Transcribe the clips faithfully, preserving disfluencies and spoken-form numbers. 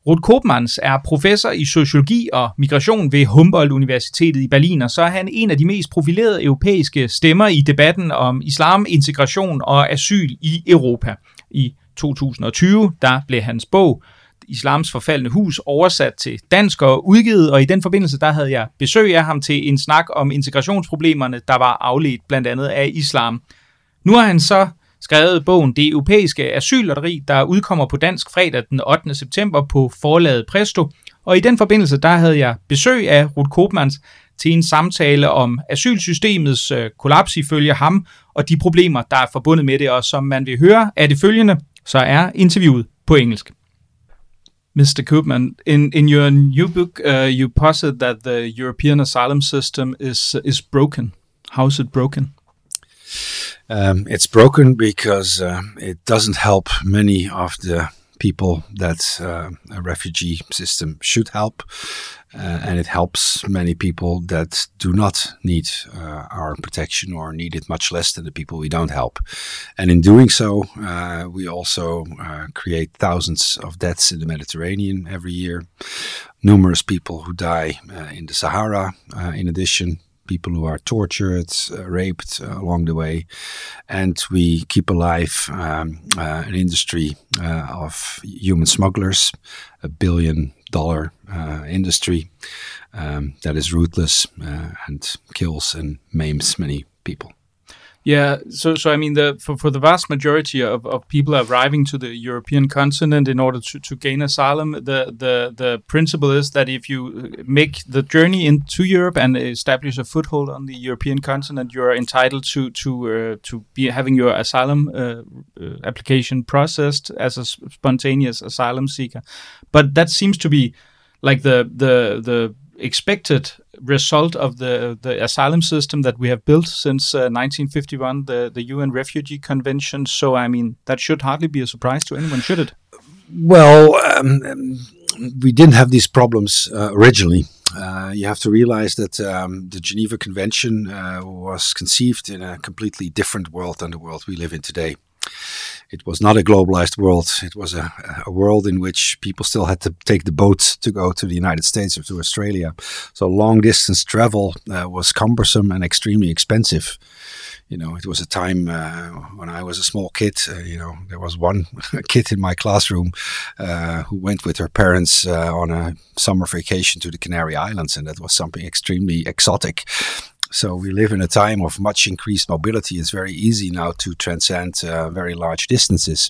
Ruud Koopmans er professor i sociologi og migration ved Humboldt-universitetet i Berlin, og så er han en af de mest profilerede europæiske stemmer i debatten om islam, integration og asyl i Europa. I to tusind og tyve, der blev hans bog Islams forfaldne hus oversat til dansk og udgivet, og i den forbindelse, der havde jeg besøg af ham til en snak om integrationsproblemerne, der var afledt blandt andet af islam. Nu har han så skrevet bogen Det Europæiske Asyllotteri, der udkommer på dansk fredag den ottende september på forlaget Presto. Og i den forbindelse, der havde jeg besøg af Ruud Koopmans til en samtale om asylsystemets øh, kollaps ifølge ham, og de problemer, der er forbundet med det. Og som man vil høre af det følgende, så er interviewet på engelsk. mister Koopman, in, in your new book, uh, you posit that the European asylum system is is broken. How is it broken? Um, it's broken because uh, it doesn't help many of the people that uh, a refugee system should help, uh, and it helps many people that do not need uh, our protection or need it much less than the people we don't help. And in doing so, uh, we also uh, create thousands of deaths in the Mediterranean every year, numerous people who die uh, in the Sahara, uh, in addition, people who are tortured, uh, raped uh, along the way, and we keep alive um, uh, an industry uh, of human smugglers, a billion dollar uh, industry um, that is ruthless uh, and kills and maims many people. Yeah, so so I mean, the for, for the vast majority of, of people arriving to the European continent in order to, to gain asylum, the, the the principle is that if you make the journey into Europe and establish a foothold on the European continent, you are entitled to to uh, to be having your asylum uh, uh, application processed as a spontaneous asylum seeker. But that seems to be like the the the expected result of the the asylum system that we have built since uh, nineteen fifty-one, the the U N Refugee Convention. So I mean, that should hardly be a surprise to anyone, should it? Well, um, we didn't have these problems uh, originally. Uh, you have to realize that um, the Geneva Convention uh, was conceived in a completely different world than the world we live in today. It was not a globalized world. It was a, a world in which people still had to take the boat to go to the United States or to Australia. So long distance travel uh, was cumbersome and extremely expensive. You know, it was a time uh, when I was a small kid, uh, you know, there was one kid in my classroom uh, who went with her parents uh, on a summer vacation to the Canary Islands, and that was something extremely exotic. So we live in a time of much increased mobility. It's very easy now to transcend uh, very large distances.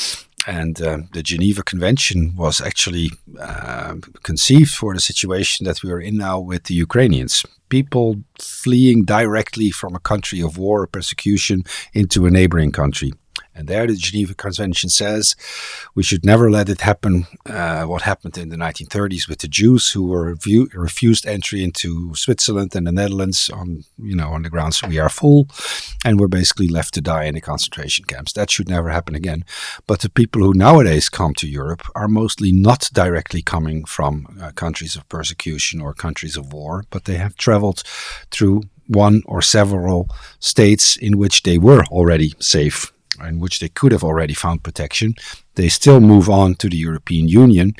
And uh, the Geneva Convention was actually uh, conceived for the situation that we are in now with the Ukrainians. People fleeing directly from a country of war or persecution into a neighboring country. And there the Geneva Convention says we should never let it happen, uh, what happened in the nineteen thirties with the Jews who were view, refused entry into Switzerland and the Netherlands on, you know, on the grounds we are full, and were basically left to die in the concentration camps. That should never happen again. But the people who nowadays come to Europe are mostly not directly coming from uh, countries of persecution or countries of war, but they have traveled through one or several states in which they were already safe, in which they could have already found protection. They still move on to the European Union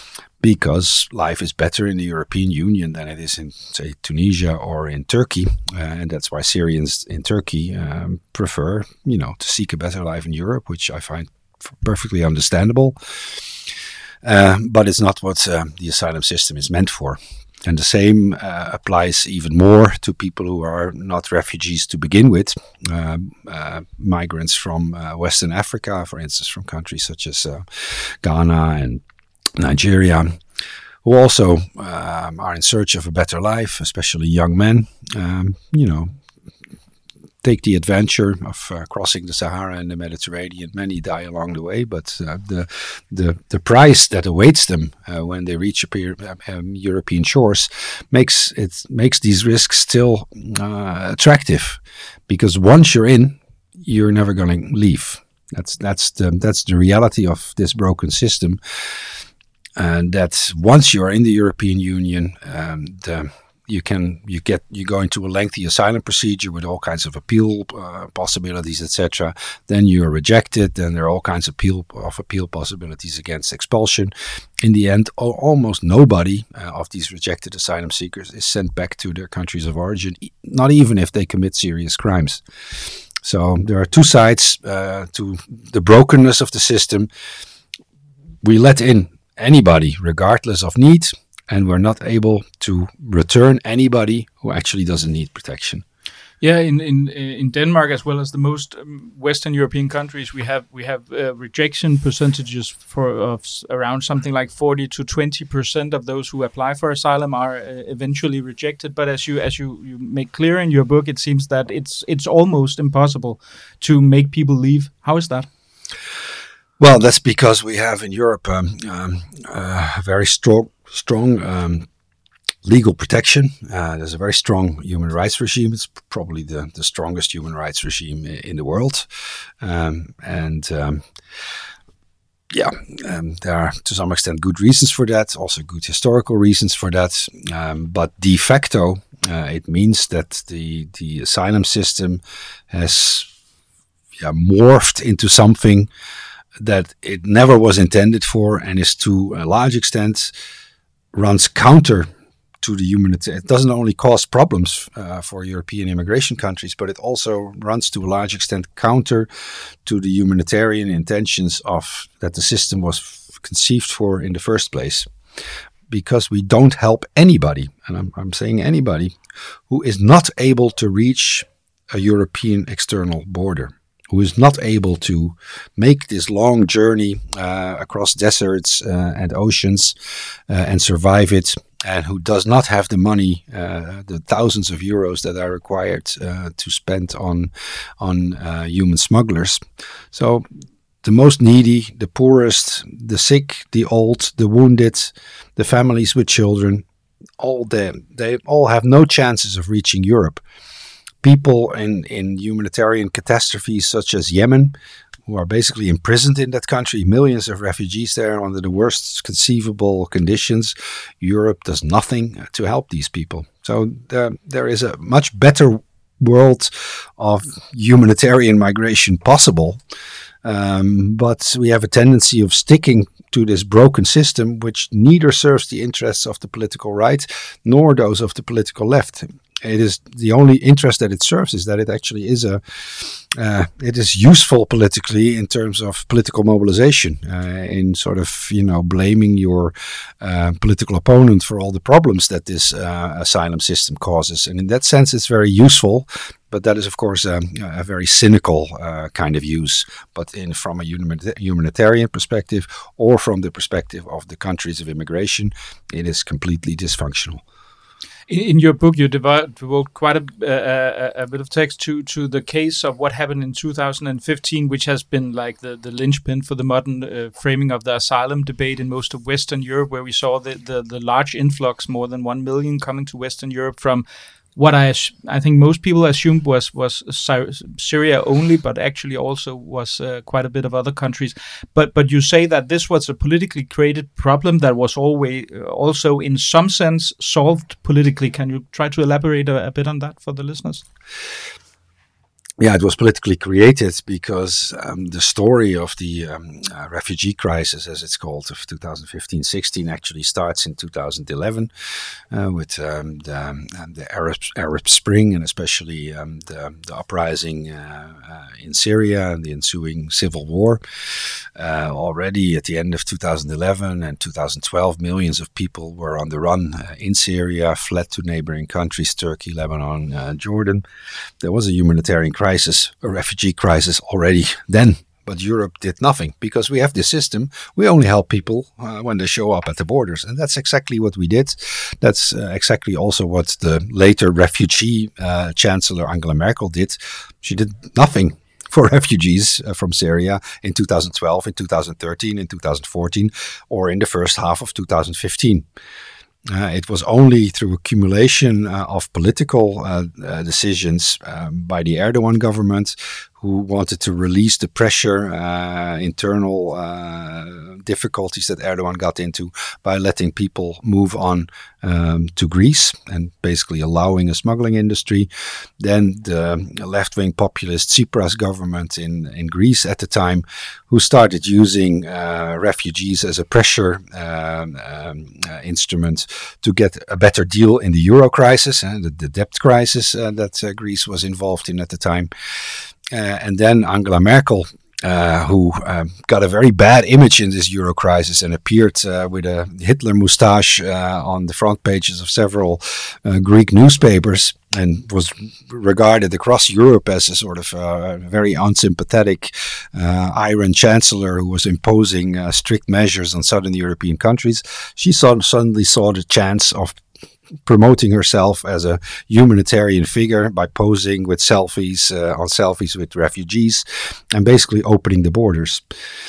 because life is better in the European Union than it is in, say, Tunisia or in Turkey. Uh, and that's why Syrians in Turkey um, prefer, you know, to seek a better life in Europe, which I find perfectly understandable. Uh, but it's not what uh, the asylum system is meant for. And the same uh, applies even more to people who are not refugees to begin with, uh, uh, migrants from uh, Western Africa, for instance, from countries such as uh, Ghana and Nigeria, who also um, are in search of a better life, especially young men, um, you know, take the adventure of uh, crossing the Sahara and the Mediterranean. Many die along the way, but uh, the the the price that awaits them uh, when they reach um, European shores makes it makes these risks still uh, attractive, because once you're in, you're never going to leave. That's that's the that's the reality of this broken system, and that once you are in the European Union, um, the you can you get you go into a lengthy asylum procedure with all kinds of appeal uh, possibilities, et cetera. Then you are rejected. Then there are all kinds of appeal of appeal possibilities against expulsion. In the end, al- almost nobody uh, of these rejected asylum seekers is sent back to their countries of origin, not even if they commit serious crimes. So there are two sides uh, to the brokenness of the system. We let in anybody regardless of need, and we're not able to return anybody who actually doesn't need protection. Yeah, in in in Denmark as well as the most um, Western European countries, we have we have uh, rejection percentages for of s- around something like forty to twenty percent of those who apply for asylum are uh, eventually rejected. But as you as you, you make clear in your book, it seems that it's it's almost impossible to make people leave. How is that? Well, that's because we have in Europe um, um, uh, a very strong strong um, legal protection. Uh, there's a very strong human rights regime. It's probably the, the strongest human rights regime in the world. Um, and um, yeah, um, there are to some extent good reasons for that, also good historical reasons for that. Um, but de facto, uh, it means that the, the asylum system has yeah, morphed into something that it never was intended for, and is to a large extent runs counter to the humanitarian. It doesn't only cause problems uh, for European immigration countries, but it also runs to a large extent counter to the humanitarian intentions of that the system was f- conceived for in the first place. Because we don't help anybody, and I'm, I'm saying anybody, who is not able to reach a European external border, who is not able to make this long journey uh, across deserts uh, and oceans uh, and survive it, and who does not have the money, uh, the thousands of euros that are required uh, to spend on on uh, human smugglers. So the most needy, the poorest, the sick, the old, the wounded, the families with children, all them, they all have no chances of reaching Europe. People in, in humanitarian catastrophes such as Yemen, who are basically imprisoned in that country, millions of refugees there under the worst conceivable conditions. Europe does nothing to help these people. So there, there is a much better world of humanitarian migration possible. Um, but we have a tendency of sticking to this broken system, which neither serves the interests of the political right nor those of the political left. It is the only interest that it serves is that it actually is a uh, it is useful politically in terms of political mobilization, uh, in sort of you know blaming your uh, political opponent for all the problems that this uh, asylum system causes, and in that sense it's very useful. But that is, of course, um, a very cynical uh, kind of use. But in from a humanitarian perspective, or from the perspective of the countries of immigration, it is completely dysfunctional. In, in your book, you devote, devote quite a, uh, a bit of text to to the case of what happened in two thousand fifteen, which has been like the, the linchpin for the modern uh, framing of the asylum debate in most of Western Europe, where we saw the, the, the large influx, more than one million coming to Western Europe from what I I think most people assumed was was Syria only, but actually also was uh, quite a bit of other countries. But but you say that this was a politically created problem that was always uh, also in some sense solved politically. Can you try to elaborate a, a bit on that for the listeners? Yeah, it was politically created because um, the story of the um, uh, refugee crisis, as it's called, of two thousand fifteen sixteen actually starts in two thousand eleven uh, with um, the, um, the Arab, Arab Spring, and especially um, the, the uprising uh, uh, in Syria and the ensuing civil war. Uh, already at the end of two thousand eleven and two thousand twelve, millions of people were on the run uh, in Syria, fled to neighboring countries, Turkey, Lebanon, uh, Jordan. There was a humanitarian crisis. Crisis, a refugee crisis already then, but Europe did nothing because we have this system. We only help people uh, when they show up at the borders, and that's exactly what we did. That's uh, exactly also what the later refugee uh, Chancellor Angela Merkel did. She did nothing for refugees uh, from Syria in two thousand twelve, in two thousand thirteen, in two thousand fourteen, or in the first half of two thousand fifteen. Uh, it was only through accumulation uh, of political uh, uh, decisions um, by the Erdogan government, who wanted to release the pressure, uh, internal uh, difficulties that Erdogan got into by letting people move on um, to Greece and basically allowing a smuggling industry. Then the left-wing populist Tsipras government in, in Greece at the time, who started using uh, refugees as a pressure um, um, uh, instrument to get a better deal in the euro crisis, uh, the, the debt crisis uh, that uh, Greece was involved in at the time. Uh, and then Angela Merkel, uh, who um, got a very bad image in this euro crisis and appeared uh, with a Hitler moustache uh, on the front pages of several uh, Greek newspapers, and was regarded across Europe as a sort of uh, very unsympathetic uh, iron chancellor who was imposing uh, strict measures on southern European countries. She saw, suddenly saw the chance of promoting herself as a humanitarian figure by posing with selfies uh, on selfies with refugees and basically opening the borders.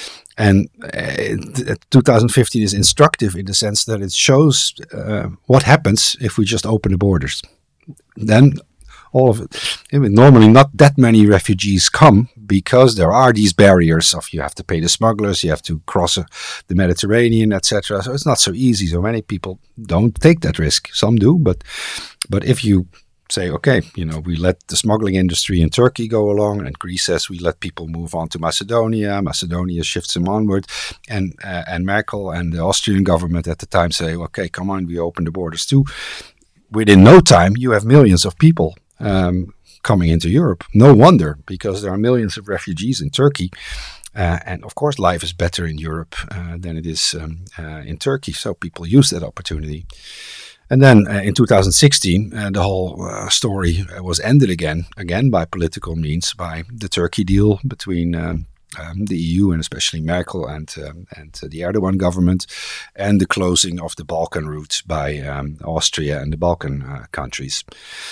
And uh, twenty fifteen is instructive in the sense that it shows uh, what happens if we just open the borders. Then all of it, I mean, normally not that many refugees come because there are these barriers of you have to pay the smugglers, you have to cross uh, the Mediterranean, et cetera. So it's not so easy. So many people don't take that risk. Some do, but but if you say, okay, you know, we let the smuggling industry in Turkey go along, and Greece says we let people move on to Macedonia, Macedonia shifts them onward, and uh, and Merkel and the Austrian government at the time say, okay, come on, we open the borders too. Within no time, you have millions of people Um, coming into Europe. No wonder, because there are millions of refugees in Turkey. Uh, and of course, life is better in Europe uh, than it is um, uh, in Turkey. So people use that opportunity. And then uh, in two thousand sixteen, uh, the whole uh, story was ended again, again by political means, by the Turkey deal between um, um, the E U and especially Merkel and um, and uh, the Erdogan government, and the closing of the Balkan route by um, Austria and the Balkan uh, countries.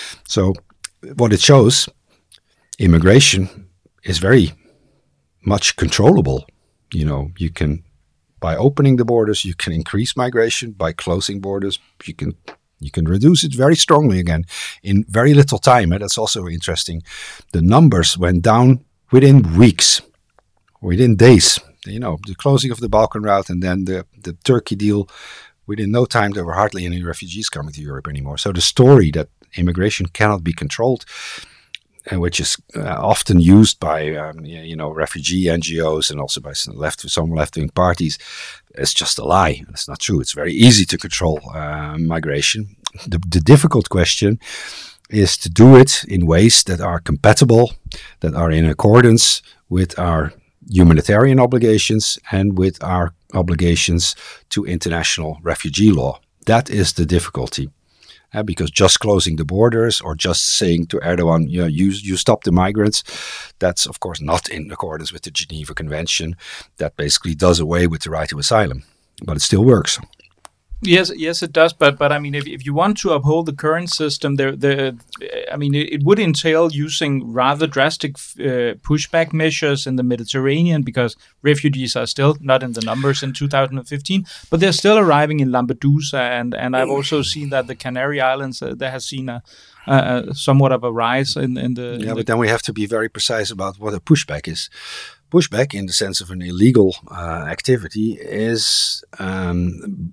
So what it shows, immigration is very much controllable. You know, you can, by opening the borders, you can increase migration. By closing borders, you can you can reduce it very strongly again in very little time. And that's also interesting. The numbers went down within weeks, within days. You know, the closing of the Balkan route and then the, the Turkey deal, within no time there were hardly any refugees coming to Europe anymore. So the story that immigration cannot be controlled, uh, which is uh, often used by um, you know refugee N G Os and also by some left some left-wing parties, is just a lie. It's not true. It's very easy to control uh, migration. The, the difficult question is to do it in ways that are compatible, that are in accordance with our humanitarian obligations and with our obligations to international refugee law. That is the difficulty. Uh, because just closing the borders or just saying to Erdogan, you know, you, you stop the migrants, that's of course not in accordance with the Geneva Convention. That basically does away with the right to asylum, but it still works. Yes, yes, it does. But but I mean, if if you want to uphold the current system, there, the I mean, it, it would entail using rather drastic uh, pushback measures in the Mediterranean, because refugees are still not in the numbers in two thousand fifteen, but they're still arriving in Lampedusa, and and I've also seen that the Canary Islands uh, there has seen a, a somewhat of a rise in in the. Yeah, in but the then we have to be very precise about what a pushback is. Pushback, in the sense of an illegal uh, activity, is Um,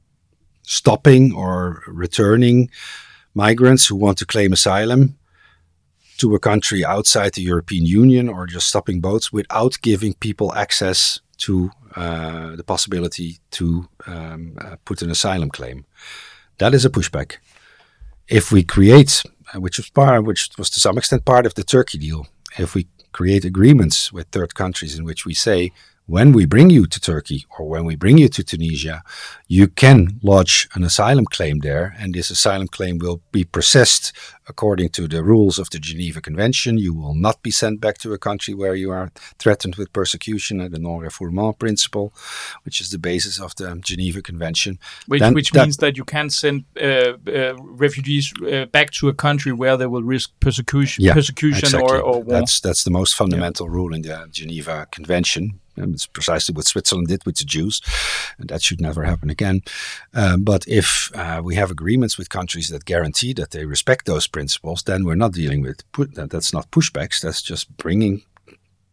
stopping or returning migrants who want to claim asylum to a country outside the European Union, or just stopping boats without giving people access to uh, the possibility to um, uh, put an asylum claim. That is a pushback. If we create, uh, which was part, which was to some extent part of the Turkey deal, if we create agreements with third countries in which we say, when we bring you to Turkey or when we bring you to Tunisia, you can lodge an asylum claim there, and this asylum claim will be processed according to the rules of the Geneva Convention. You will not be sent back to a country where you are threatened with persecution, and the non-refoulement principle, which is the basis of the Geneva Convention. Which, then, which that, means that you can't send uh, uh, refugees uh, back to a country where they will risk persecution, yeah, persecution exactly. or, or war. That's, that's the most fundamental yeah. rule in the Geneva Convention. And it's precisely what Switzerland did with the Jews, and that should never happen again. Uh, but if uh, we have agreements with countries that guarantee that they respect those principles, then we're not dealing with, pu- that, that's not pushbacks, that's just bringing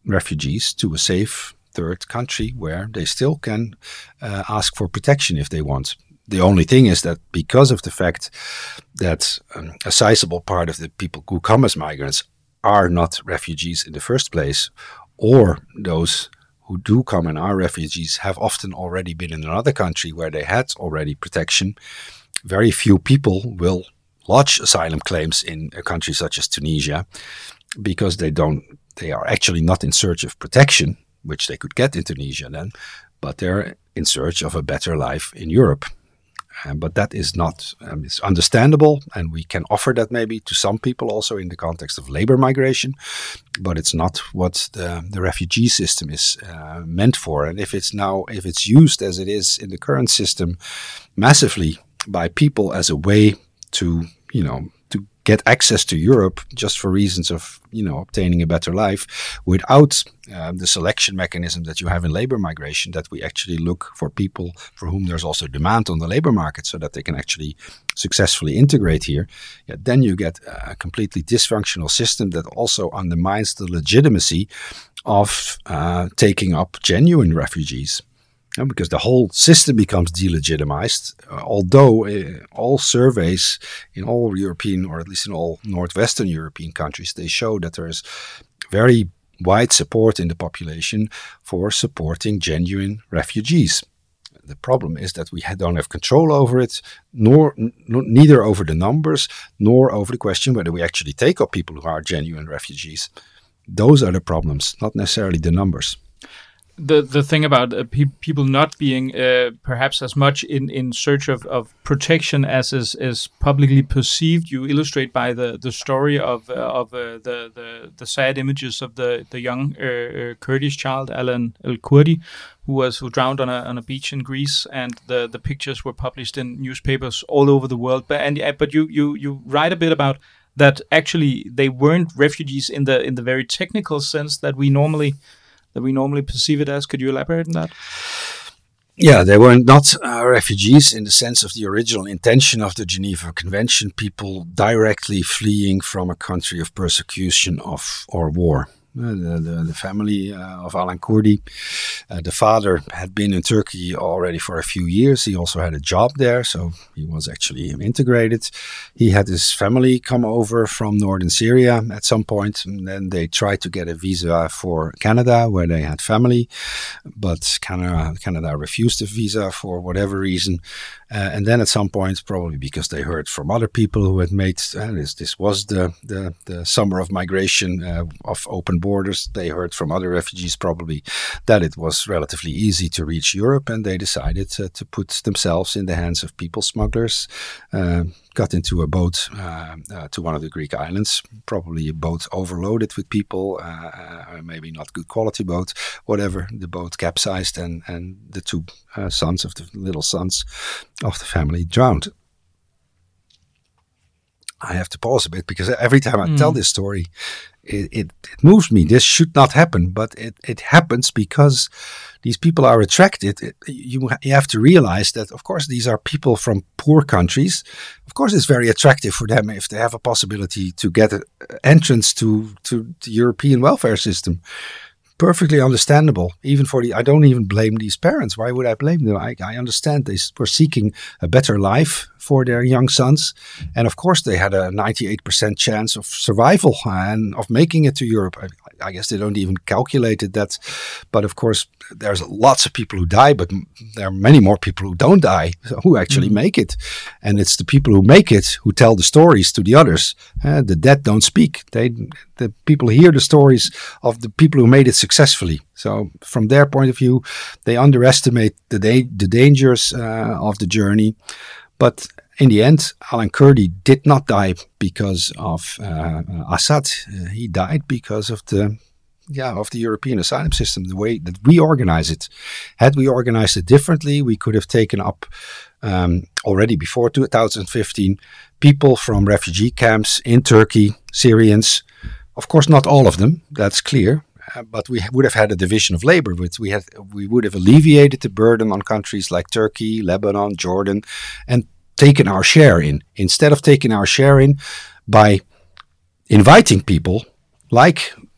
refugees to a safe third country where they still can uh, ask for protection if they want. The only thing is that because of the fact that um, a sizable part of the people who come as migrants are not refugees in the first place, or those who do come and are refugees have often already been in another country where they had already protection, very few people will lodge asylum claims in a country such as Tunisia because they don't, they are actually not in search of protection, which they could get in Tunisia then, but they're in search of a better life in Europe. Um, but that is not, um, it's understandable, and we can offer that maybe to some people also in the context of labor migration, but it's not what the, the refugee system is uh, meant for. And if it's now, if it's used as it is in the current system massively by people as a way to, you know, to get access to Europe just for reasons of, you know, obtaining a better life without uh, the selection mechanism that you have in labor migration, that we actually look for people for whom there's also demand on the labor market so that they can actually successfully integrate here, yeah, then you get a completely dysfunctional system that also undermines the legitimacy of uh, taking up genuine refugees. Yeah, because the whole system becomes delegitimized, uh, although uh, all surveys in all European, or at least in all Northwestern European countries, they show that there is very wide support in the population for supporting genuine refugees. The problem is that we don't have control over it, nor n- neither over the numbers, nor over the question whether we actually take up people who are genuine refugees. Those are the problems, not necessarily the numbers. The the thing about uh, pe- people not being uh, perhaps as much in, in search of, of protection as is, is publicly perceived, you illustrate by the, the story of uh, of uh, the, the the sad images of the the young uh, uh, Kurdish child Alan El-Kurdi, who was who drowned on a on a beach in Greece, and the, the pictures were published in newspapers all over the world. But and but you you you write a bit about that actually they weren't refugees in the in the very technical sense that we normally. that we normally perceive it as. Could you elaborate on that? Yeah, they were not uh, refugees in the sense of the original intention of the Geneva Convention, people directly fleeing from a country of persecution of or war. Uh, the, the, the family uh, of Alan Kurdi, uh, the father had been in Turkey already for a few years. He also had a job there, so he was actually integrated. He had his family come over from northern Syria at some point, and then they tried to get a visa for Canada, where they had family, but Canada, Canada refused a visa for whatever reason. Uh, and then at some point, probably because they heard from other people who had made, uh, this, this was the, the, the summer of migration, uh, of open borders, they heard from other refugees probably that it was relatively easy to reach Europe, and they decided uh, to put themselves in the hands of people smugglers, uh, got into a boat uh, uh, to one of the Greek islands, probably a boat overloaded with people, uh, uh, maybe not good quality boat, whatever. The boat capsized, and, and the two uh, sons of the little sons of the family drowned. I have to pause a bit because every time I mm. tell this story, it, it, it moves me. This should not happen, but it, it happens because these people are attracted. It, you, you have to realize that, of course, these are people from poor countries. Of course, it's very attractive for them if they have a possibility to get an entrance to, to the European welfare system. Perfectly understandable. Even for the, I don't even blame these parents. Why would I blame them? I, I understand they were seeking a better life for their young sons, and of course they had a ninety-eight percent chance of survival and of making it to Europe. I, I guess they don't even calculate it that, but of course there's lots of people who die, but there are many more people who don't die, who actually mm-hmm. make it, and it's the people who make it who tell the stories to the others. Uh, the dead don't speak. They, the people hear the stories of the people who made it successfully. So from their point of view, they underestimate the da- the dangers uh, of the journey. But in the end, Alan Kurdi did not die because of uh, Assad. Uh, he died because of the yeah of the European asylum system, the way that we organize it. Had we organized it differently, we could have taken up um, already before two thousand fifteen people from refugee camps in Turkey, Syrians. Of course, not all of them. That's clear. Uh, but we would have had a division of labor. Which we had, we would have alleviated the burden on countries like Turkey, Lebanon, Jordan, and taken our share in. Instead of taking our share in by inviting people like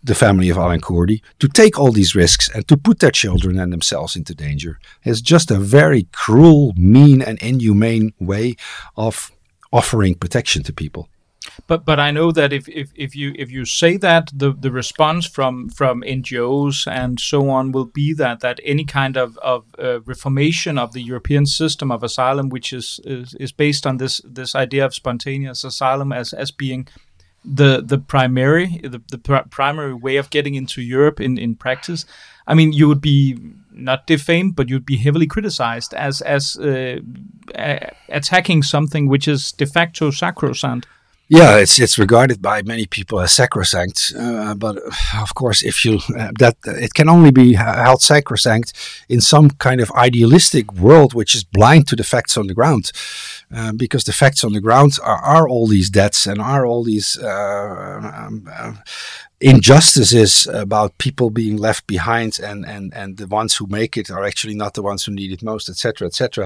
the family of Alan Kurdi to take all these risks and to put their children and themselves into danger. It's just a very cruel, mean, and inhumane way of offering protection to people. But but I know that if, if, if you if you say that, the, the response from, from N G Os and so on will be that that any kind of of uh, reformation of the European system of asylum, which is is, is based on this this idea of spontaneous asylum as as being the the primary the, the pr- primary way of getting into Europe in, in practice, I mean, you would be not defamed, but you'd be heavily criticized as as uh, a- attacking something which is de facto sacrosanct. Yeah, it's it's regarded by many people as sacrosanct, uh, but of course, if you uh, that it can only be held sacrosanct in some kind of idealistic world which is blind to the facts on the ground, uh, because the facts on the ground are, are all these deaths and are all these uh, um, uh, injustices about people being left behind, and and and the ones who make it are actually not the ones who need it most, et cetera, et cetera.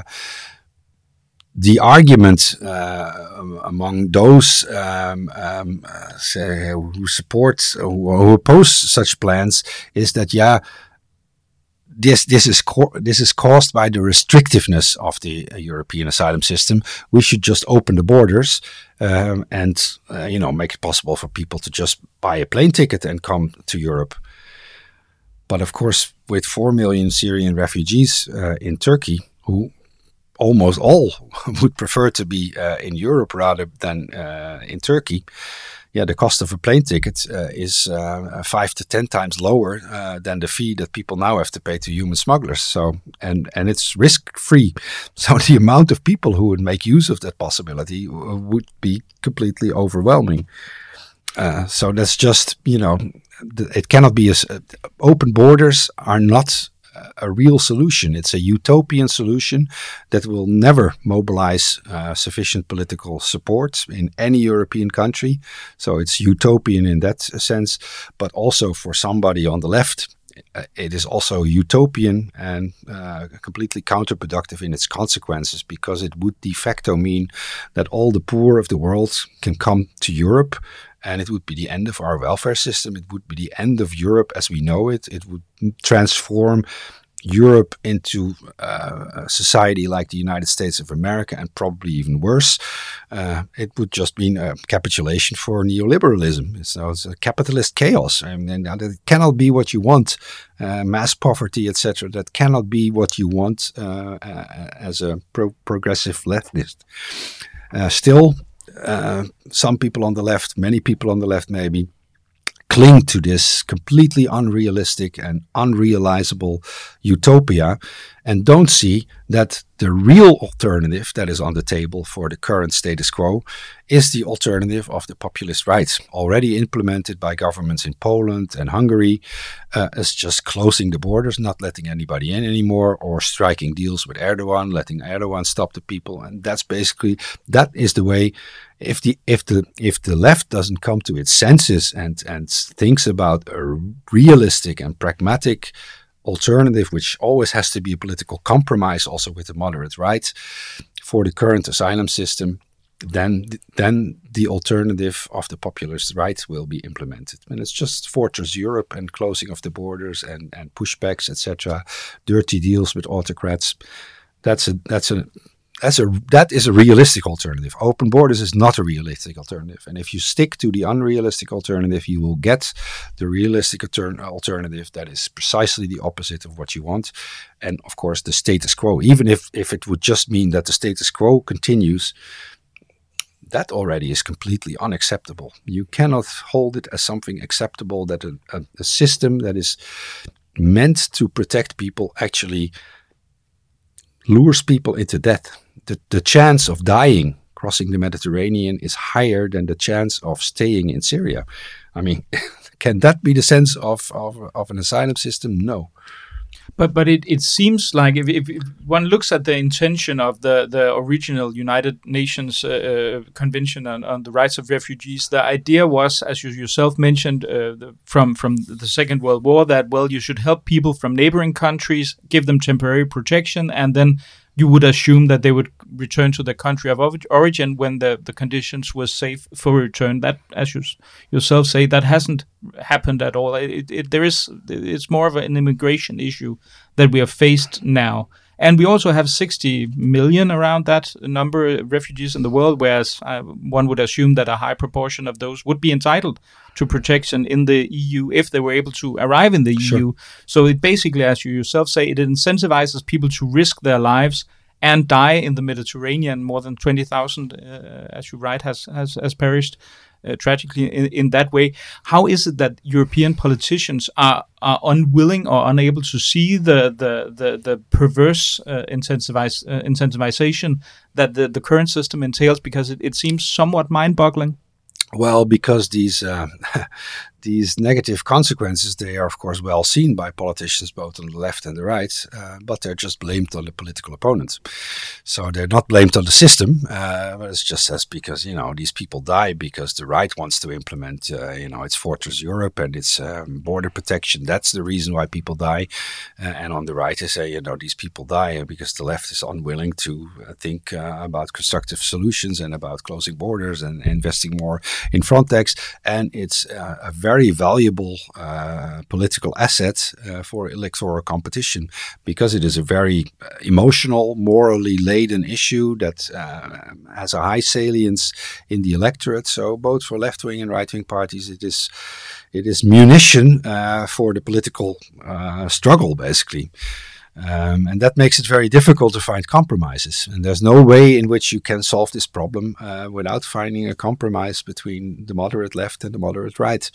The argument uh, among those um, um, uh, say, who support, who, who oppose such plans, is that yeah, this this is co- this is caused by the restrictiveness of the uh, European asylum system. We should just open the borders um, and uh, you know make it possible for people to just buy a plane ticket and come to Europe. But of course, with four million Syrian refugees uh, in Turkey, who almost all would prefer to be uh, in Europe rather than uh, in Turkey. Yeah, the cost of a plane ticket uh, is uh, five to ten times lower uh, than the fee that people now have to pay to human smugglers. So, and and it's risk-free. So the amount of people who would make use of that possibility would be completely overwhelming. Uh, so that's just, you know, it cannot be as uh, open borders are not a real solution. It's a utopian solution that will never mobilize uh, sufficient political support in any European country. So it's utopian in that sense, but also for somebody on the left, uh, it is also utopian and uh, completely counterproductive in its consequences, because it would de facto mean that all the poor of the world can come to Europe. And it would be the end of our welfare system. It would be the end of Europe as we know it. It would transform Europe into uh, a society like the United States of America, and probably even worse. Uh, it would just mean a capitulation for neoliberalism. So it's a capitalist chaos. I mean, it cannot be what you want. Uh, mass poverty, et cetera. That cannot be what you want uh, uh, as a pro- progressive leftist. Uh, still, Uh, some people on the left, many people on the left maybe, cling to this completely unrealistic and unrealizable utopia and don't see that the real alternative that is on the table for the current status quo is the alternative of the populist right, already implemented by governments in Poland and Hungary, uh, as just closing the borders, not letting anybody in anymore, or striking deals with Erdogan, letting Erdogan stop the people. And that's basically, that is the way. If the if the if the left doesn't come to its senses and and thinks about a realistic and pragmatic alternative, which always has to be a political compromise, also with the moderate right, for the current asylum system, then then the alternative of the populist right will be implemented. And it's just Fortress Europe and closing of the borders and and pushbacks, et cetera. Dirty deals with autocrats. That's a that's a That's a that is a realistic alternative. Open borders is not a realistic alternative. And if you stick to the unrealistic alternative, you will get the realistic alter- alternative that is precisely the opposite of what you want. And of course, the status quo. Even if, if it would just mean that the status quo continues, that already is completely unacceptable. You cannot hold it as something acceptable that a, a, a system that is meant to protect people actually lures people into death. The, the chance of dying crossing the Mediterranean is higher than the chance of staying in Syria. I mean, can that be the sense of, of, of an asylum system? No. But but it, it seems like if, if, if one looks at the intention of the, the original United Nations uh, Convention on, on the Rights of Refugees, the idea was, as you yourself mentioned, uh, the, from, from the Second World War, that, well, you should help people from neighboring countries, give them temporary protection, and then you would assume that they would return to their country of origin when the, the conditions were safe for return. That, as you yourself say, that hasn't happened at all. It, it, there is, it's more of an immigration issue that we are faced now. And we also have sixty million around that number of refugees in the world, whereas uh, one would assume that a high proportion of those would be entitled to protection in the E U if they were able to arrive in the sure. E U. So it basically, as you yourself say, it incentivizes people to risk their lives and die in the Mediterranean. More than twenty thousand, uh, as you write, has, has, has perished uh, tragically in, in that way. How is it that European politicians are, are unwilling or unable to see the the the, the perverse uh, incentivize, uh, incentivization that the, the current system entails? Because it, it seems somewhat mind-boggling. Well, because these uh, these negative consequences, they are of course well seen by politicians both on the left and the right, uh, but they're just blamed on the political opponents. So they're not blamed on the system, uh, but it's just as because, you know, these people die because the right wants to implement, uh, you know, its Fortress Europe and its um, border protection. That's the reason why people die. Uh, and on the right, they say, you know, these people die because the left is unwilling to uh, think uh, about constructive solutions and about closing borders and investing more in Frontex. And it's uh, a very valuable uh, political asset uh, for electoral competition, because it is a very emotional, morally laden issue that uh, has a high salience in the electorate. So both for left-wing and right-wing parties, it is it is munition uh, for the political uh, struggle, basically. Um, and that makes it very difficult to find compromises. And there's no way in which you can solve this problem uh, without finding a compromise between the moderate left and the moderate right.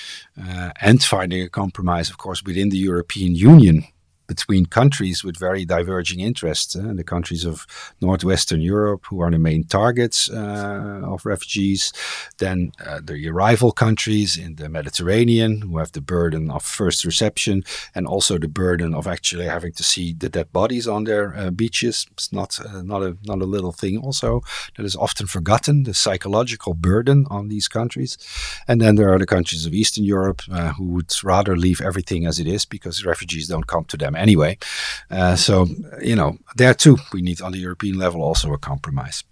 Uh, and finding a compromise, of course, within the European Union, between countries with very diverging interests. Uh, the countries of Northwestern Europe, who are the main targets uh, of refugees. Then uh, the arrival countries in the Mediterranean, who have the burden of first reception, and also the burden of actually having to see the dead bodies on their uh, beaches. It's not uh, not a not a little thing also that is often forgotten, the psychological burden on these countries. And then there are the countries of Eastern Europe uh, who would rather leave everything as it is because refugees don't come to them anyway. Uh, so, you know, there too, we need on the European level also a compromise.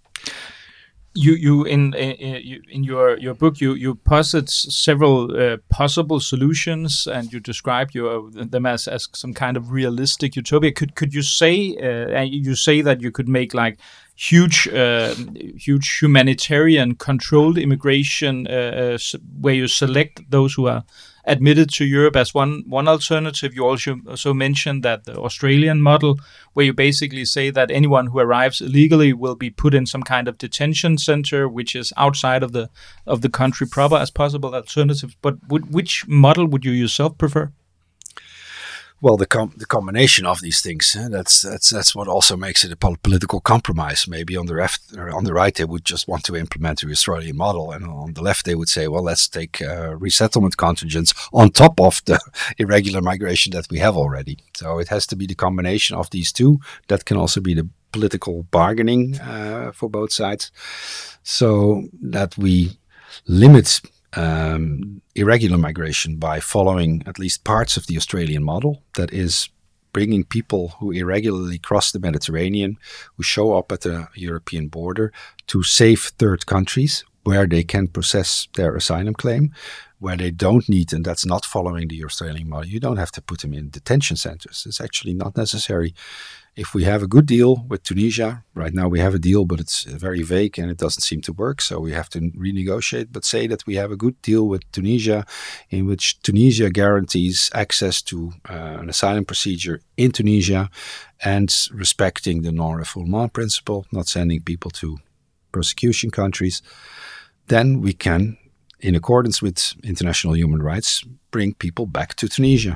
You, you in in, in your, your book, you, you posit several uh, possible solutions, and you describe your, them as, as some kind of realistic utopia. Could could you say, uh, you say that you could make like huge, uh, huge humanitarian controlled immigration, uh, uh, where you select those who are admitted to Europe as one one alternative. You also also mentioned that the Australian model, where you basically say that anyone who arrives illegally will be put in some kind of detention center, which is outside of the of the country proper, as possible alternatives. But would, which model would you yourself prefer? Well, the com- the combination of these things, eh, that's that's that's what also makes it a pol- political compromise. Maybe on the left or on the right, they would just want to implement the Australian model, and on the left, they would say, well, let's take uh, resettlement contingents on top of the irregular migration that we have already. So it has to be the combination of these two. That can also be the political bargaining uh, for both sides, so that we limit Um, irregular migration by following at least parts of the Australian model, that is bringing people who irregularly cross the Mediterranean, who show up at the European border, to safe third countries where they can process their asylum claim, where they don't need, and that's not following the Australian model, you don't have to put them in detention centers. It's actually not necessary. If we have a good deal with Tunisia, right now we have a deal, but it's very vague and it doesn't seem to work, so we have to renegotiate. But say that we have a good deal with Tunisia, in which Tunisia guarantees access to uh, an asylum procedure in Tunisia and respecting the non-refoulement principle, not sending people to persecution countries, then we can, in accordance with international human rights, bring people back to Tunisia.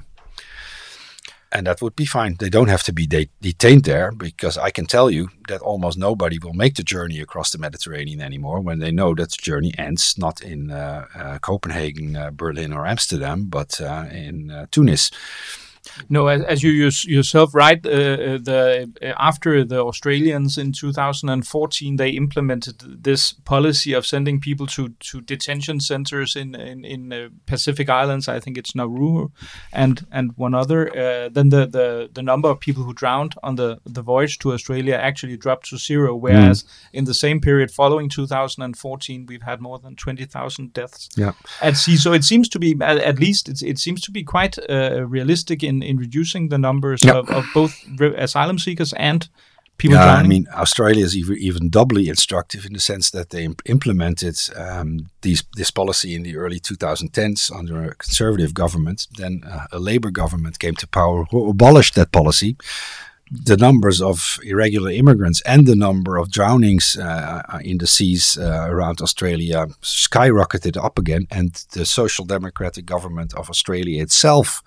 And that would be fine. They don't have to be de- detained there, because I can tell you that almost nobody will make the journey across the Mediterranean anymore when they know that the journey ends not in uh, uh, Copenhagen, uh, Berlin or Amsterdam, but uh, in uh, Tunis. No, as, as you yourself write, uh, the uh, after the Australians in two thousand fourteen, they implemented this policy of sending people to, to detention centers in in, in uh, Pacific Islands. I think it's Nauru and and one other. Uh, then the, the, the number of people who drowned on the, the voyage to Australia actually dropped to zero, whereas mm. in the same period following two thousand fourteen, we've had more than twenty thousand deaths yeah. at sea. So it seems to be, at, at least, it's, it seems to be quite uh, realistic in, in reducing the numbers yep. of, of both re- asylum seekers and people yeah, drowning. I mean, Australia is even, even doubly instructive in the sense that they imp- implemented um, these, this policy in the early twenty tens under a conservative government. Then uh, a Labour government came to power who abolished that policy. The numbers of irregular immigrants and the number of drownings uh, in the seas uh, around Australia skyrocketed up again, and the Social Democratic government of Australia itself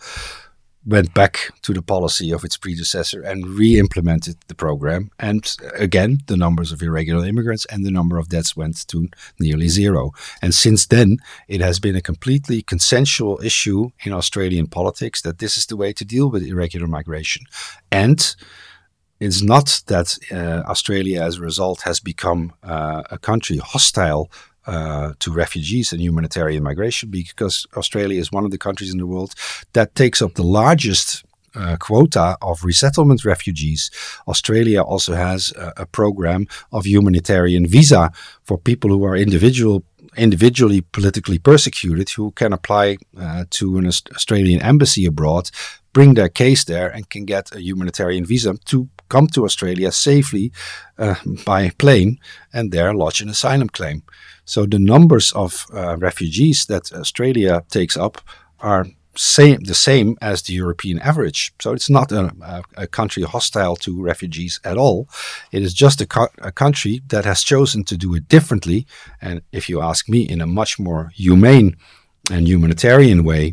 went back to the policy of its predecessor and re-implemented the program. And again, the numbers of irregular immigrants and the number of deaths went to nearly zero. And since then, it has been a completely consensual issue in Australian politics that this is the way to deal with irregular migration. And it's not that uh, Australia, as a result, has become uh, a country hostile Uh, to refugees and humanitarian migration, because Australia is one of the countries in the world that takes up the largest uh, quota of resettlement refugees. Australia also has a, a program of humanitarian visa for people who are individual individually politically persecuted, who can apply uh, to an Australian embassy abroad, bring their case there, and can get a humanitarian visa to come to Australia safely uh, by plane and there lodge an asylum claim. So the numbers of uh, refugees that Australia takes up are same, the same as the European average. So it's not a, a, a country hostile to refugees at all. It is just a, co- a country that has chosen to do it differently. And if you ask me, in a much more humane and humanitarian way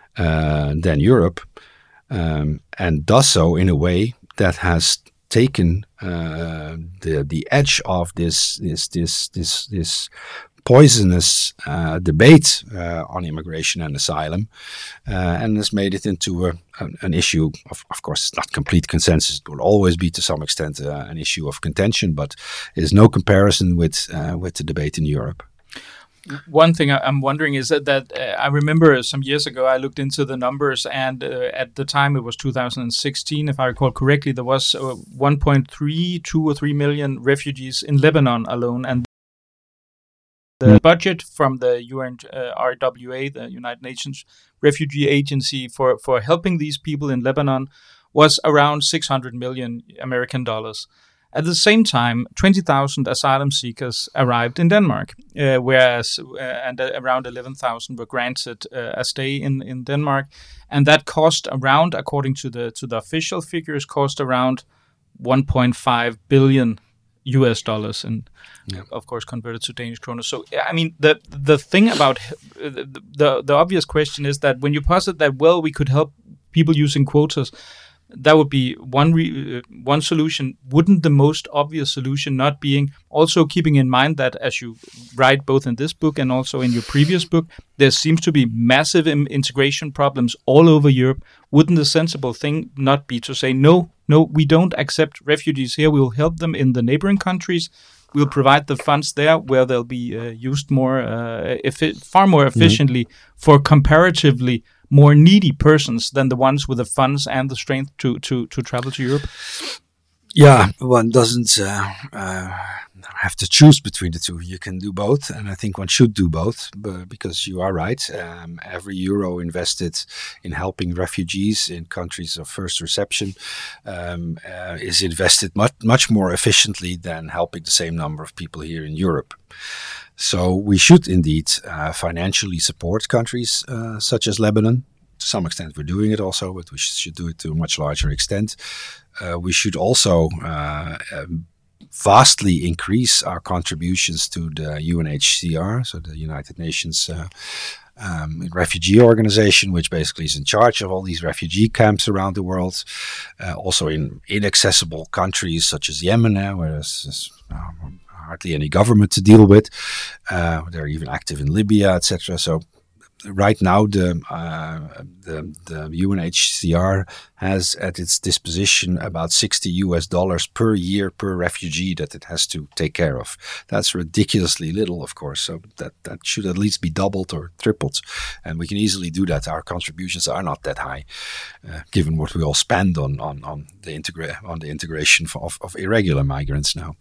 uh, than Europe, um, and does so in a way that has taken uh, the the edge of this this this this this poisonous uh, debate uh, on immigration and asylum, uh, and has made it into a, an, an issue of, of course, it's not complete consensus. It will always be, to some extent, uh, an issue of contention, but there's no comparison with uh, with the debate in Europe. One thing I'm wondering is that, that uh, I remember some years ago I looked into the numbers, and uh, at the time it was two thousand sixteen, if I recall correctly, there was uh, one point three, two or three million refugees in Lebanon alone, and the budget from the U N uh, R W A, the United Nations Refugee Agency, for, for helping these people in Lebanon was around six hundred million American dollars. At the same time, twenty thousand asylum seekers arrived in Denmark, uh, whereas uh, and uh, around eleven thousand were granted uh, a stay in, in Denmark, and that cost around, according to the to the official figures, cost around one point five billion U S dollars, and yeah. of course converted to Danish kroner. So, I mean, the the thing about the, the the obvious question is that when you posit that, well, we could help people using quotas, that would be one re- uh, one solution. Wouldn't the most obvious solution not being also keeping in mind that, as you write both in this book and also in your previous book, there seems to be massive im- integration problems all over Europe? Wouldn't the sensible thing not be to say, no, no, we don't accept refugees here. We will help them in the neighboring countries. We'll provide the funds there where they'll be uh, used more, uh, effi- far more efficiently mm-hmm. for comparatively more needy persons than the ones with the funds and the strength to to to travel to Europe? Yeah, one doesn't uh, uh, have to choose between the two. You can do both, and I think one should do both, but because you are right. Um, every euro invested in helping refugees in countries of first reception um, uh, is invested much much more efficiently than helping the same number of people here in Europe. So we should indeed uh, financially support countries uh, such as Lebanon. To some extent, we're doing it also, but we should do it to a much larger extent. Uh, we should also uh, um, vastly increase our contributions to the U N H C R, so the United Nations uh, um, Refugee Organization, which basically is in charge of all these refugee camps around the world. Uh, also in inaccessible countries such as Yemen, uh, where there's, there's um, hardly any government to deal with. Uh, they're even active in Libya, et cetera. So right now the, uh, the the U N H C R has at its disposition about sixty U S dollars per year per refugee that it has to take care of. That's ridiculously little, of course. So that, that should at least be doubled or tripled. And we can easily do that. Our contributions are not that high, uh, given what we all spend on on, on the integra- on the integration of, of irregular migrants now.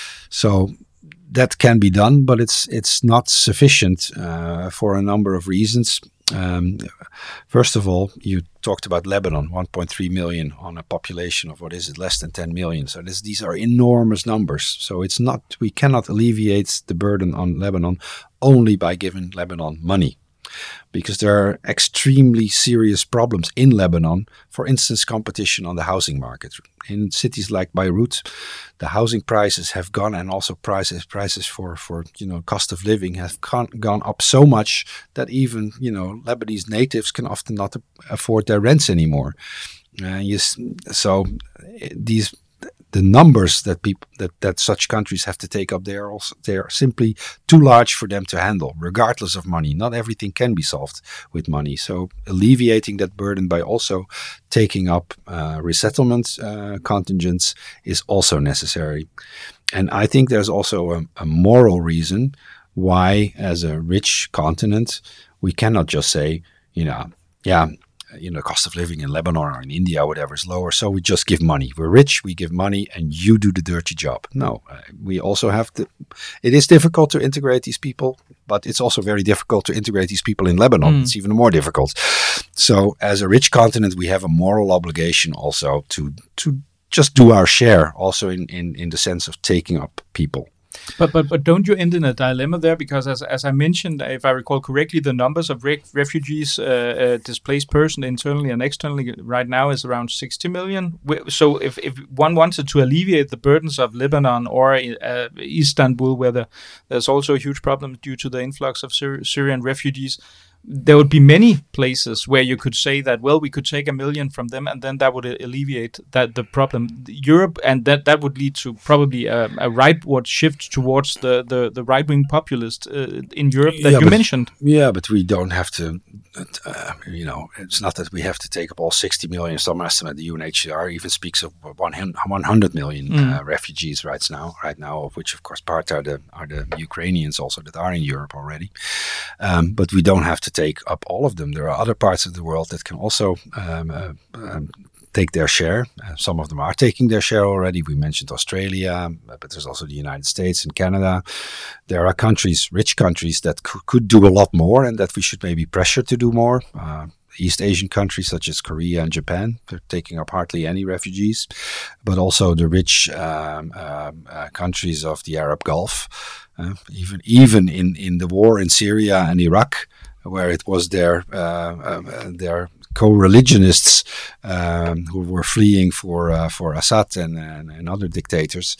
So that can be done, but it's it's not sufficient uh, for a number of reasons. Um, first of all, you talked about Lebanon, one point three million on a population of, what is it, less than ten million. So this, these are enormous numbers. So it's not, we cannot alleviate the burden on Lebanon only by giving Lebanon money, because there are extremely serious problems in Lebanon. For instance, competition on the housing market. In cities like Beirut, the housing prices have gone, and also prices prices for, for you know cost of living have gone, gone up so much that even you know Lebanese natives can often not afford their rents anymore. Uh, yes, so these. The numbers that people that, that such countries have to take up, they are also they are simply too large for them to handle, regardless of money. Not everything can be solved with money. So alleviating that burden by also taking up uh, resettlement uh, contingents is also necessary. And I think there's also a, a moral reason why, as a rich continent, we cannot just say, you know, yeah. You know, cost of living in Lebanon or in India, or whatever, is lower, so we just give money. We're rich, we give money, and you do the dirty job. No, uh, we also have to. It is difficult to integrate these people, but it's also very difficult to integrate these people in Lebanon. Mm. It's even more difficult. So, as a rich continent, we have a moral obligation also to to just do our share, also in in, in the sense of taking up people. But but but don't you end in a dilemma there? Because as as I mentioned, if I recall correctly, the numbers of re- refugees, uh, uh, displaced persons internally and externally right now is around sixty million. So if, if one wanted to alleviate the burdens of Lebanon or uh, Istanbul, where the, there's also a huge problem due to the influx of Syri- Syrian refugees, there would be many places where you could say that, well, we could take a million from them, and then that would alleviate that the problem. Europe, and that, that would lead to probably a, a rightward shift towards the, the, the right-wing populist uh, in Europe that yeah, you but, mentioned. Yeah, but we don't have to, uh, you know, it's not that we have to take up all sixty million. Some estimate, the U N H C R even speaks of one hundred million mm. uh, refugees right now, right now, of which, of course, part are the, are the Ukrainians also that are in Europe already. Um, but we don't have to take up all of them. There are other parts of the world that can also um, uh, um, take their share. Uh, some of them are taking their share already. We mentioned Australia, but there's also the United States and Canada. There are countries, rich countries, that c- could do a lot more, and that we should maybe pressure to do more. Uh, East Asian countries such as Korea and Japan, they're taking up hardly any refugees, but also the rich um, um, uh, countries of the Arab Gulf. Uh, even even in, in the war in Syria and Iraq, where it was their uh, uh, their co-religionists um, who were fleeing for uh, for Assad and, and, and other dictators.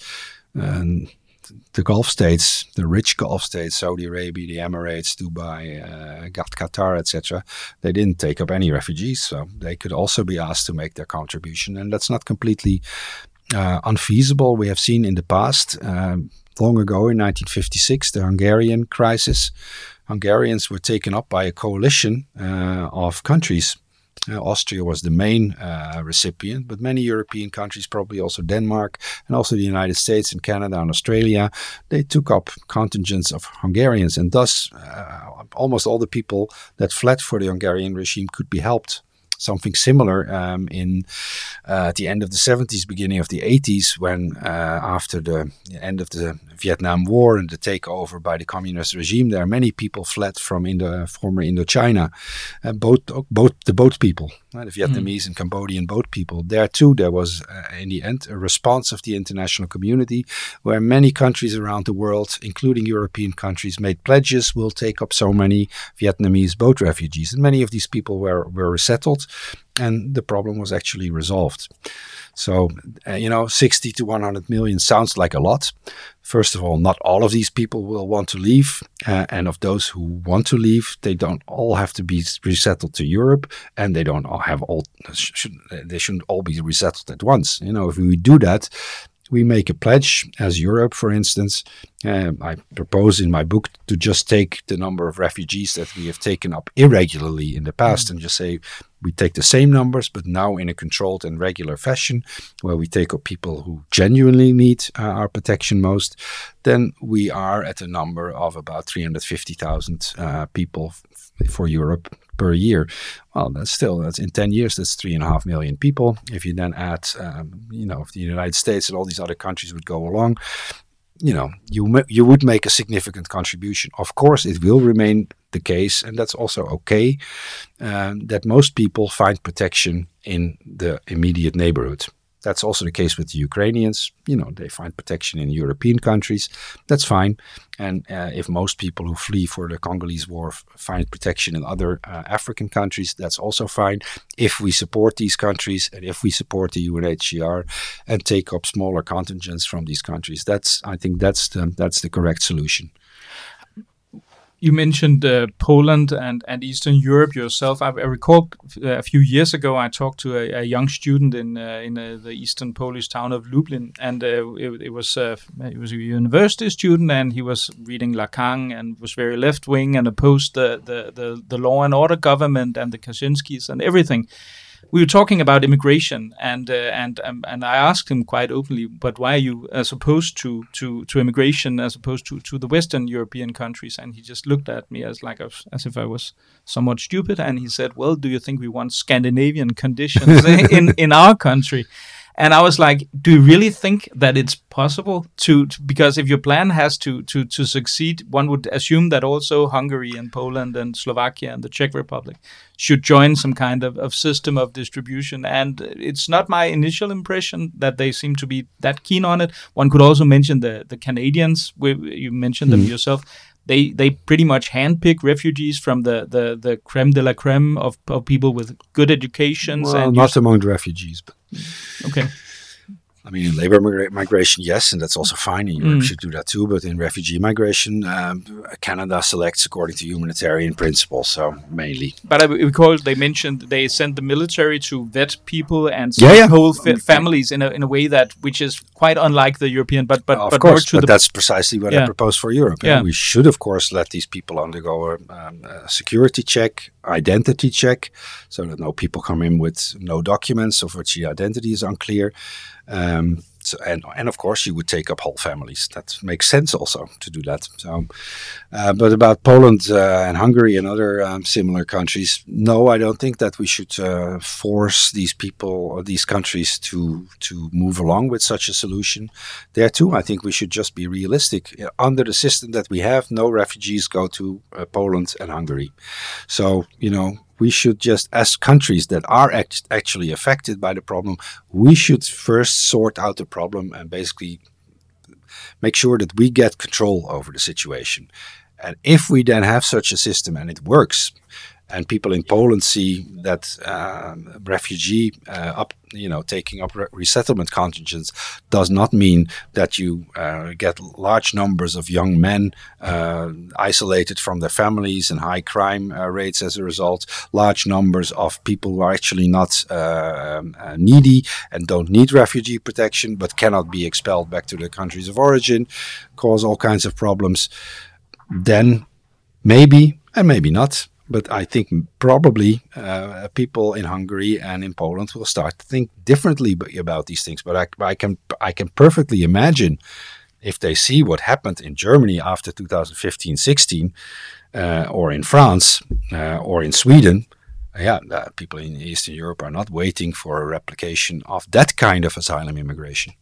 Um, the Gulf states, the rich Gulf states, Saudi Arabia, the Emirates, Dubai, uh, Qatar, et cetera, they didn't take up any refugees, so they could also be asked to make their contribution, and that's not completely uh, unfeasible. We have seen in the past, um, long ago in nineteen fifty-six, the Hungarian crisis. Hungarians were taken up by a coalition uh, of countries. Uh, Austria was the main uh, recipient, but many European countries, probably also Denmark, and also the United States and Canada and Australia, they took up contingents of Hungarians, and thus uh, almost all the people that fled for the Hungarian regime could be helped. Something similar um, in uh, at the end of the seventies, beginning of the eighties, when uh, after the end of the Vietnam War and the takeover by the communist regime, there are many people fled from Indo, former Indochina, uh, both both the boat people, uh, the Vietnamese mm. and Cambodian boat people. There too, there was uh, in the end a response of the international community, where many countries around the world, including European countries, made pledges: we'll take up so many Vietnamese boat refugees, and many of these people were were resettled. And the problem was actually resolved. So, uh, you know, sixty to one hundred million sounds like a lot. First of all, not all of these people will want to leave. Uh, and of those who want to leave, they don't all have to be resettled to Europe. And they don't all have all, should, they shouldn't all be resettled at once. You know, if we do that, we make a pledge as Europe, for instance. Um, I propose in my book to just take the number of refugees that we have taken up irregularly in the past mm-hmm. and just say we take the same numbers, but now in a controlled and regular fashion, where we take up people who genuinely need uh, our protection most. Then we are at a number of about three hundred fifty thousand uh, people f- for Europe per year. Well, that's still, that's in ten years, that's three and a half million people. If you then add, um, you know, if the United States and all these other countries would go along, you know, you ma- you would make a significant contribution. Of course, it will remain the case, and that's also okay, um, that most people find protection in the immediate neighborhood. That's also the case with the Ukrainians. You know, they find protection in European countries. That's fine. And uh, if most people who flee for the Congolese war f- find protection in other uh, African countries, that's also fine. If we support these countries and if we support the U N H C R and take up smaller contingents from these countries, that's I think that's the, that's the correct solution. You mentioned uh, Poland and, and Eastern Europe yourself. I, I recall uh, a few years ago I talked to a, a young student in uh, in uh, the eastern Polish town of Lublin, and uh, it, it was uh, it was a university student, and he was reading Lacan and was very left wing and opposed the, the, the, the law and order government and the Kaczynskis and everything. We were talking about immigration, and uh, and um, and I asked him quite openly, but why are you as opposed to, to, to immigration as opposed to, to the Western European countries? And he just looked at me as like as, as if I was somewhat stupid, and he said, "Well, do you think we want Scandinavian conditions in in our country?" And I was like, do you really think that it's possible to, to because if your plan has to, to, to succeed, one would assume that also Hungary and Poland and Slovakia and the Czech Republic should join some kind of, of system of distribution. And it's not my initial impression that they seem to be that keen on it. One could also mention the, the Canadians. We, you mentioned them mm. yourself. They they pretty much handpick refugees from the, the, the creme de la creme of, of people with good educations. Well, and not among the refugees. But okay. I mean, in labor migra- migration, yes, and that's also fine. And Europe mm. should do that too. But in refugee migration, um, Canada selects according to humanitarian principles, so mainly. But I recall they mentioned they sent the military to vet people and yeah, yeah. whole fa- families in a in a way that which is quite unlike the European. But but of but course, more to but the that's precisely what yeah. I propose for Europe. Yeah. We should, of course, let these people undergo a, um, a security check, identity check, so that no people come in with no documents of which the identity is unclear. Um, so, and and of course you would take up whole families. That makes sense also to do that. So, uh, but about Poland uh, and Hungary and other um, similar countries, no, I don't think that we should uh, force these people or these countries to to move along with such a solution. There too, I think we should just be realistic. Under the system that we have, no refugees go to uh, Poland and Hungary. So you know. We should just, as countries that are act- actually affected by the problem, we should first sort out the problem and basically make sure that we get control over the situation. And if we then have such a system and it works, and people in Poland see that uh, refugee uh, up, you know, taking up re- resettlement contingents does not mean that you uh, get large numbers of young men uh, isolated from their families and high crime uh, rates as a result, large numbers of people who are actually not uh, uh, needy and don't need refugee protection but cannot be expelled back to their countries of origin, cause all kinds of problems, then maybe and maybe not. But I think probably uh, people in Hungary and in Poland will start to think differently about these things. But I, I can I can perfectly imagine if they see what happened in Germany after two thousand fifteen sixteen, uh, or in France, uh, or in Sweden, yeah, uh, people in Eastern Europe are not waiting for a replication of that kind of asylum immigration.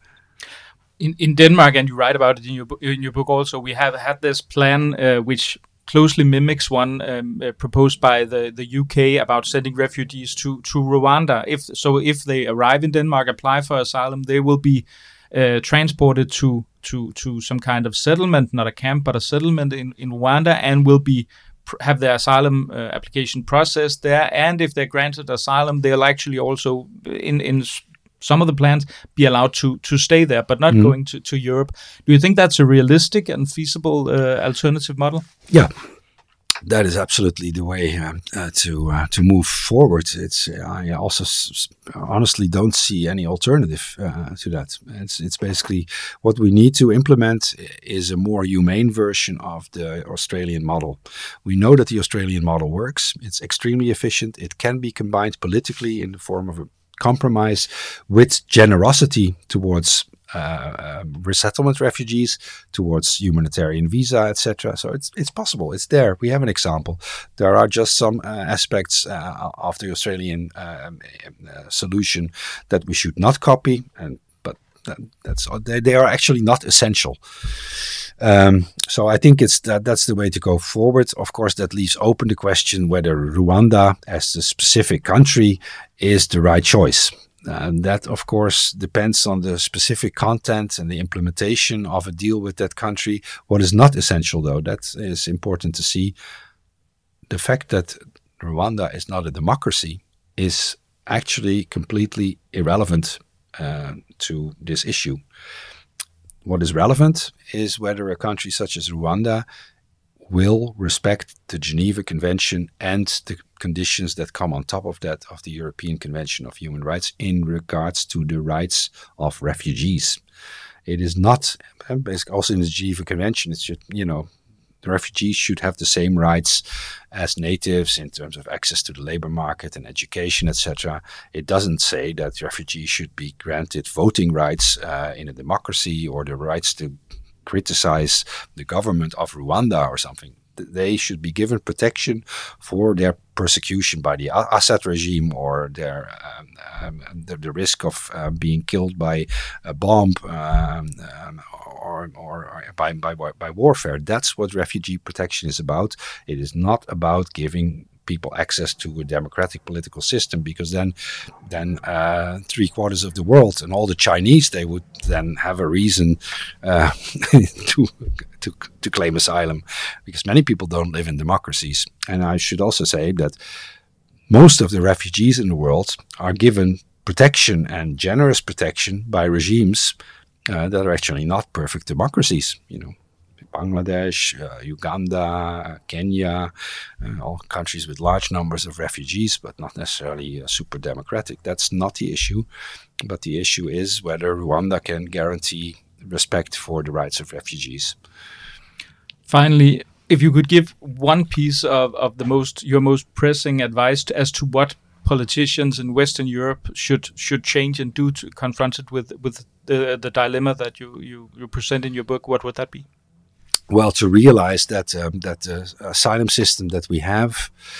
In in Denmark, and you write about it in your in your book also, we have had this plan uh, which closely mimics one um, uh, proposed by the, the U K about sending refugees to, to Rwanda. If so, if they arrive in Denmark, apply for asylum, they will be uh, transported to, to to some kind of settlement, not a camp, but a settlement in, in Rwanda, and will be have their asylum uh, application processed there. And if they're granted asylum, they'll actually also in in some of the plans be allowed to to stay there, but not mm. going to, to Europe. Do you think that's a realistic and feasible uh, alternative model? Yeah, that is absolutely the way um, uh, to uh, to move forward. It's I also s- honestly don't see any alternative uh, to that. It's it's basically what we need to implement is a more humane version of the Australian model. We know that the Australian model works. It's extremely efficient. It can be combined politically in the form of a compromise with generosity towards Uh, um, resettlement refugees, towards humanitarian visa, et cetera. So it's it's possible. It's there. We have an example. There are just some uh, aspects uh, of the Australian uh, uh, solution that we should not copy, and but that, that's they, they are actually not essential. Um, so I think it's that that's the way to go forward. Of course, that leaves open the question whether Rwanda, as the specific country, is the right choice. And that, of course, depends on the specific content and the implementation of a deal with that country. What is not essential, though, that is important to see. The fact that Rwanda is not a democracy is actually completely irrelevant uh, to this issue. What is relevant is whether a country such as Rwanda will respect the Geneva Convention and the conditions that come on top of that of the European Convention of Human Rights in regards to the rights of refugees. It is not, basically also in the Geneva Convention, it should, you know, the refugees should have the same rights as natives in terms of access to the labor market and education, et cetera. It doesn't say that refugees should be granted voting rights uh, in a democracy or the rights to criticize the government of Rwanda or something. They should be given protection for their persecution by the Assad regime or their um, um, the, the risk of uh, being killed by a bomb um, um, or, or, or by, by by warfare. That's what refugee protection is about. It is not about giving people access to a democratic political system, because then then uh, three quarters of the world and all the Chinese, they would then have a reason uh, to, to to claim asylum, because many people don't live in democracies. And I should also say that most of the refugees in the world are given protection and generous protection by regimes uh, that are actually not perfect democracies, you know. Bangladesh, uh, Uganda, Kenya, uh, all countries with large numbers of refugees, but not necessarily uh, super democratic. That's not the issue. But the issue is whether Rwanda can guarantee respect for the rights of refugees. Finally, if you could give one piece of, of the most your most pressing advice to, as to what politicians in Western Europe should should change and do to confront it with with the the dilemma that you you, you present in your book, what would that be? Well, to realize that um, that the uh, asylum system that we have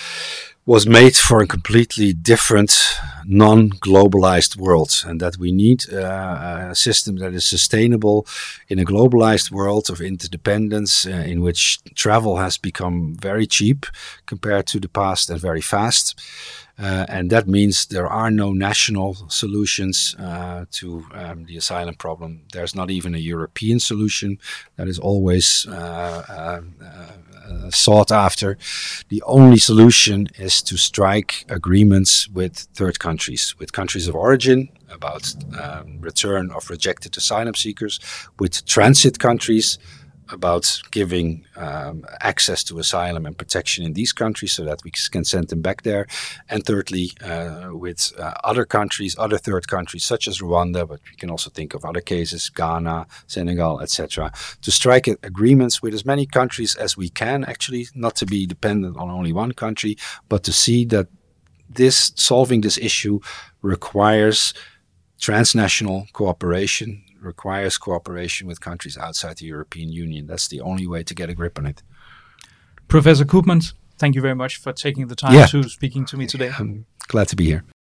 was made for a completely different, non-globalized world, and that we need uh, a system that is sustainable in a globalized world of interdependence, uh, in which travel has become very cheap compared to the past and very fast. Uh, and that means there are no national solutions uh, to um, the asylum problem. There's not even a European solution that is always uh, uh, uh, sought after. The only solution is to strike agreements with third countries, with countries of origin about um, return of rejected asylum seekers, with transit countries about giving um, access to asylum and protection in these countries so that we can send them back there. And thirdly, uh, with uh, other countries, other third countries such as Rwanda, but we can also think of other cases, Ghana, Senegal, et cetera, to strike agreements with as many countries as we can, actually, not to be dependent on only one country, but to see that this solving this issue requires transnational cooperation, requires cooperation with countries outside the European Union. That's the only way to get a grip on it. Professor Koopmans, thank you very much for taking the time yeah. to speaking to me today. I'm glad to be here.